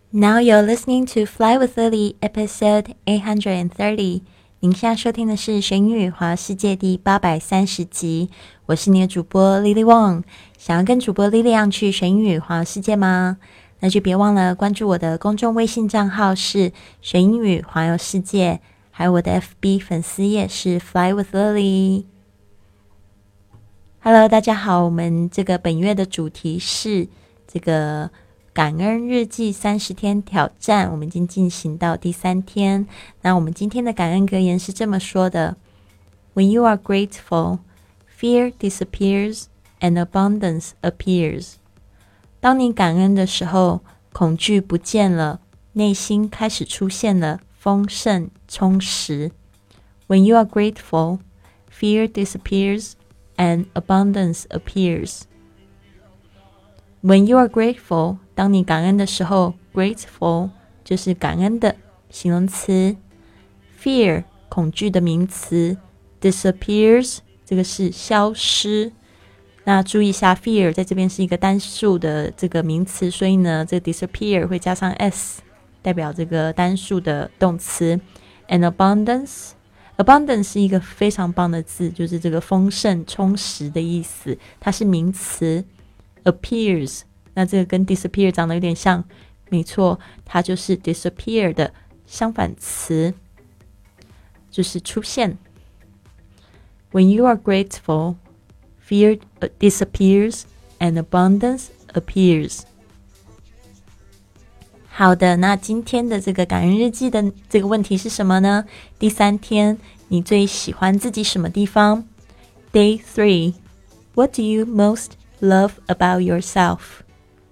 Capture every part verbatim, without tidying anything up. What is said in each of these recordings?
Now you're listening to Fly with Lily, episode eight hundred thirty. 您现在收听的是学英语环游世界第八百三十集，我是你的主播 Lily Wong。想要跟主播 Lily 一样去学英语环游世界吗？那就别忘了关注我的公众微信账号是学英语环游世界，还有我的 F B 粉丝页是 Fly with Lily。Hello， 大家好，我们这个本月的主题是这个感恩日记三十天挑战，我们已经进行到第三天。那我们今天的感恩格言是这么说的 ：When you are grateful, fear disappears and abundance appears. 当你感恩的时候，恐惧不见了，内心开始出现了丰盛充实。When you are grateful, fear disappears and abundance appears.When you are grateful, 当你感恩的时候 grateful 就是感恩的形容词 fear 恐惧的名词 disappears 这个是消失。那注意一下 fear 在这边是一个单数的这个名词，所以呢这个 disappear 会加上 s 代表这个单数的动词。 and abundance abundance 是一个非常棒的字，就是这个丰盛充实的意思，它是名词。appears 那这个跟 disappear 长得有点像，没错，它就是 disappear 的相反词，就是出现。 When you are grateful, fear disappears and abundance appears. 好的，那今天的这个感恩日记的这个问题是什么呢？第三天，你最喜欢自己什么地方？ Day three, what do you most love about yourself?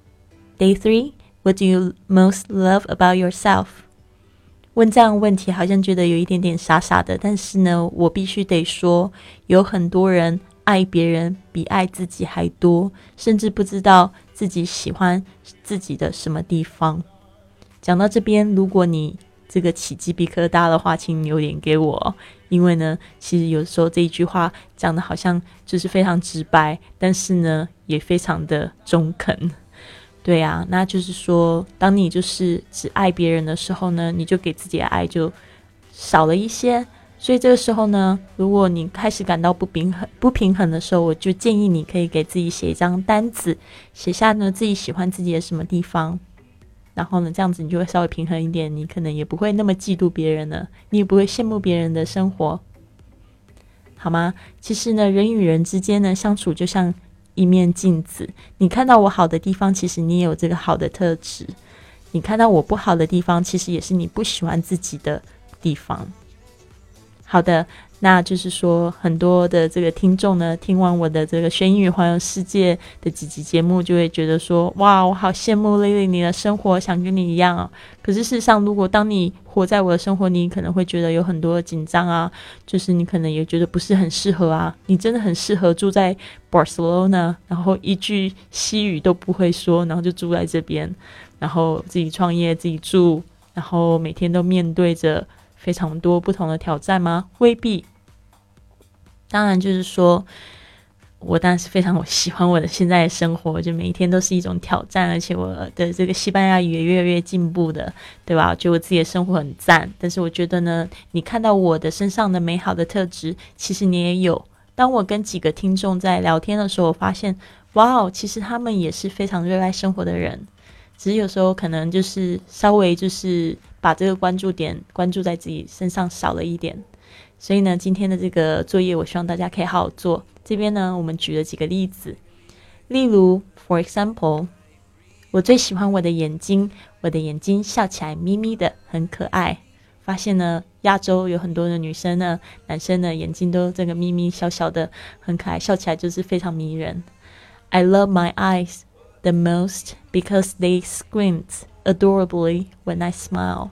Day three, what do you most love about yourself? 问这样的问题好像觉得有一点点傻傻的，但是呢，我必须得说，有很多人爱别人比爱自己还多，甚至不知道自己喜欢自己的什么地方。讲到这边，如果你这个起鸡皮疙瘩的话，请留言给我，因为呢其实有时候这一句话讲的好像就是非常直白，但是呢也非常的中肯。对啊，那就是说当你就是只爱别人的时候呢，你就给自己的爱就少了一些，所以这个时候呢，如果你开始感到不平衡不平衡的时候，我就建议你可以给自己写一张单子，写下呢自己喜欢自己的什么地方，然后呢这样子你就会稍微平衡一点，你可能也不会那么嫉妒别人了，你也不会羡慕别人的生活，好吗？其实呢人与人之间呢相处就像一面镜子，你看到我好的地方，其实你也有这个好的特质，你看到我不好的地方，其实也是你不喜欢自己的地方。好的，那就是说很多的这个听众呢，听完我的这个学英语环游世界的几集节目，就会觉得说，哇，我好羡慕 Lily 你的生活，想跟你一样哦。可是事实上，如果当你活在我的生活，你可能会觉得有很多的紧张啊，就是你可能也觉得不是很适合啊。你真的很适合住在 Barcelona， 然后一句西语都不会说，然后就住在这边，然后自己创业，自己住，然后每天都面对着非常多不同的挑战吗？未必。当然就是说我当然是非常我喜欢我的现在的生活，就每一天都是一种挑战，而且我的这个西班牙语也越来越进步的，对吧？我觉得我自己的生活很赞，但是我觉得呢，你看到我的身上的美好的特质，其实你也有。当我跟几个听众在聊天的时候，我发现哇，其实他们也是非常热爱生活的人，只是有时候可能就是稍微就是把这个关注点关注在自己身上少了一点。所以呢，今天的这个作业我希望大家可以好好做。这边呢我们举了几个例子，例如 for example， 我最喜欢我的眼睛，我的眼睛笑起来眯眯的很可爱。发现呢亚洲有很多的女生呢男生呢眼睛都这个眯眯小小的很可爱，笑起来就是非常迷人。 I love my eyes the most because they squint adorably when I smile.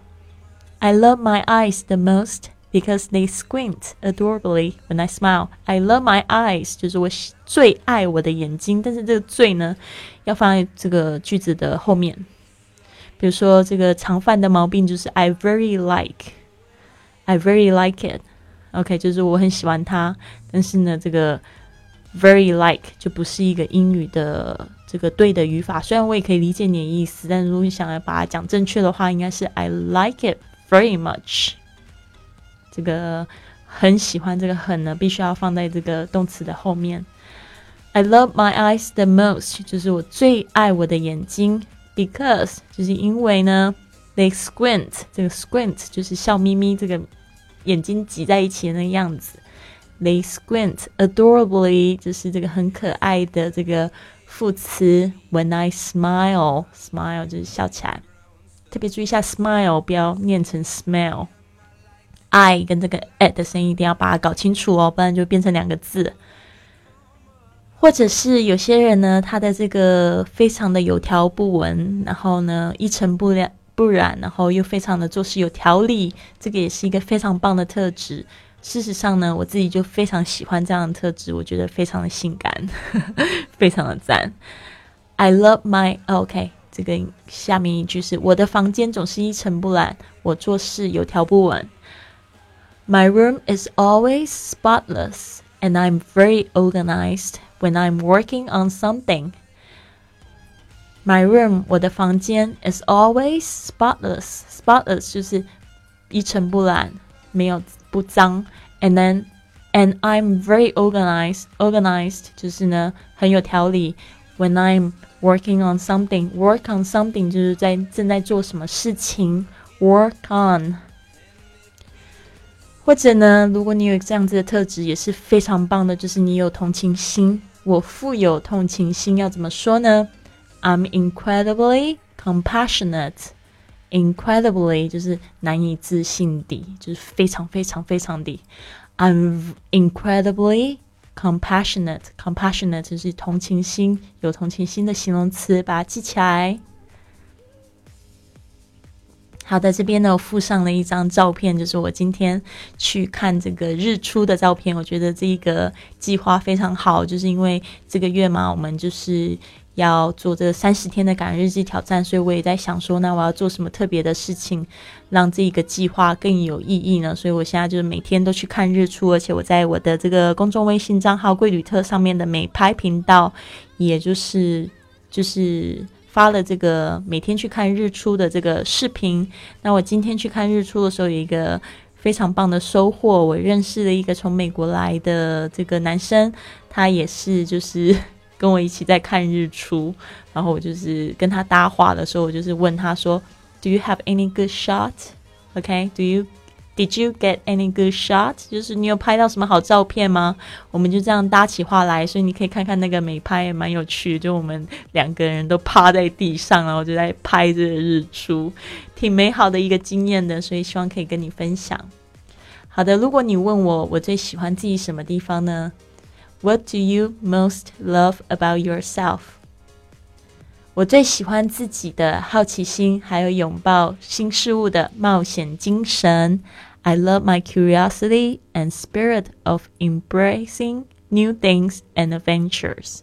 I love my eyes the most because they squint adorably when I smile. I love my eyes 就是我最爱我的眼睛，但是这个最呢要放在这个句子的后面。比如说这个常犯的毛病就是 I very like I very like it OK 就是我很喜欢它，但是呢这个 very like 就不是一个英语的这个对的语法，虽然我也可以理解你的意思，但如果你想要把它讲正确的话，应该是 I like it very much。 这个很喜欢这个很呢必须要放在这个动词的后面。 I love my eyes the most， 就是我最爱我的眼睛， because 就是因为呢 they squint， 这个 squint 就是笑眯眯，这个眼睛挤在一起的那个样子。 They squint adorably， 就是这个很可爱的这个副词。 When I smile， smile 就是笑起来，特别注意一下 smile 不要念成 smell， I 跟这个 at 的声音一定要把它搞清楚哦，不然就变成两个字。或者是有些人呢，他的这个非常的有条不紊，然后呢一尘不染不染，然后又非常的做事有条理，这个也是一个非常棒的特质。事实上呢，我自己就非常喜欢这样的特质，我觉得非常的性感非常的赞。 I love my OK， 这个下面一句是我的房间总是一尘不染，我做事有条不紊。 My room is always spotless and I'm very organized when I'm working on something。 My room， 我的房间 is always spotless， spotless 就是一尘不染，没有不脏。 And then and I'm very organized， organized 就是呢很有条理。 When I'm working on something， work on something 就是在正在做什么事情， work on。 或者呢，如果你有这样子的特质也是非常棒的，就是你有同情心。我富有同情心要怎么说呢？ I'm incredibly compassionate。 Incredibly 就是难以置信地，就是非常非常非常地。 I'm incredibly compassionate， compassionate 就是同情心，有同情心的形容词，把它记起来。好的，这边呢我附上了一张照片，就是我今天去看这个日出的照片。我觉得这个计划非常好，就是因为这个月嘛，我们就是要做这三十天的感恩日记挑战，所以我也在想说，那我要做什么特别的事情，让这个计划更有意义呢？所以我现在就是每天都去看日出，而且我在我的这个公众微信账号贵旅特上面的美拍频道，也就是就是发了这个每天去看日出的这个视频。那我今天去看日出的时候有一个非常棒的收获，我认识了一个从美国来的这个男生，他也是就是跟我一起在看日出，然后我就是跟他搭话的时候，我就是问他说 Do you have any good shot? Okay, do you Did you get any good shot? 就是你有拍到什么好照片吗？我们就这样搭起话来，所以你可以看看那个美拍也蛮有趣的，就我们两个人都趴在地上，然后就在拍这个日出，挺美好的一个经验的，所以希望可以跟你分享。好的，如果你问我我最喜欢自己什么地方呢？ What do you most love about yourself? 我最喜欢自己的好奇心，还有拥抱新事物的冒险精神。I love my curiosity and spirit of embracing new things and adventures.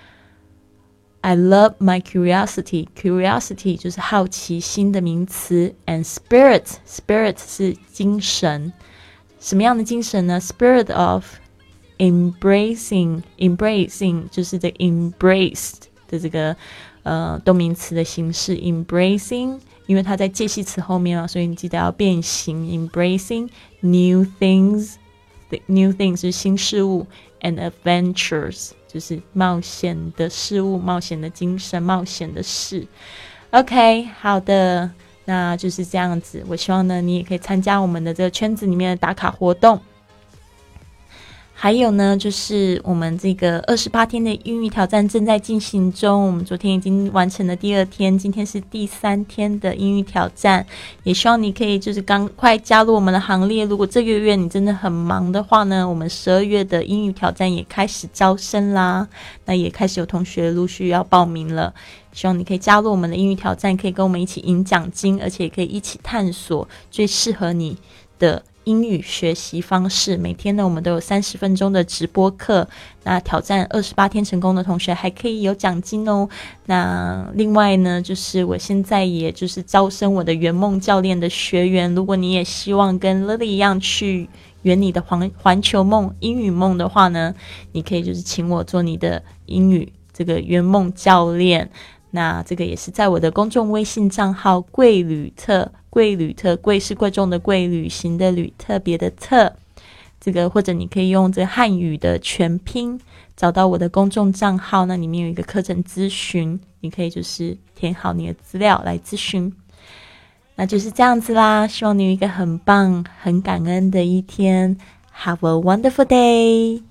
I love my curiosity. Curiosity 就是好奇心的名词 and spirit. Spirit 是精神。什么样的精神呢？ Spirit of embracing. Embracing 就是这 embraced 的这个呃动名词的形式 embracing， 因为它在介系词后面啊，所以你记得要变形 embracing new things new things 是新事物 and adventures 就是冒险的事物，冒险的精神，冒险的事。 OK， 好的，那就是这样子。我希望呢你也可以参加我们的这个圈子里面的打卡活动。还有呢，就是我们这个二十八天的英语挑战正在进行中，我们昨天已经完成了第二天，今天是第三天的英语挑战，也希望你可以就是赶快加入我们的行列。如果这个月你真的很忙的话呢，我们十二月的英语挑战也开始招生啦，那也开始有同学陆续要报名了，希望你可以加入我们的英语挑战，可以跟我们一起赢奖金，而且也可以一起探索最适合你的英语学习方式。每天呢我们都有三十分钟的直播课，那挑战二十八天成功的同学还可以有奖金哦。那另外呢就是我现在也就是招生我的圆梦教练的学员，如果你也希望跟 Lily 一样去圆你的环环球梦英语梦的话呢，你可以就是请我做你的英语这个圆梦教练。那这个也是在我的公众微信账号贵旅特，贵旅特，贵是贵重的贵，旅行的旅，特别的特，这个或者你可以用这个汉语的全拼找到我的公众账号，那里面有一个课程咨询，你可以就是填好你的资料来咨询。那就是这样子啦，希望你有一个很棒很感恩的一天。 Have a wonderful day.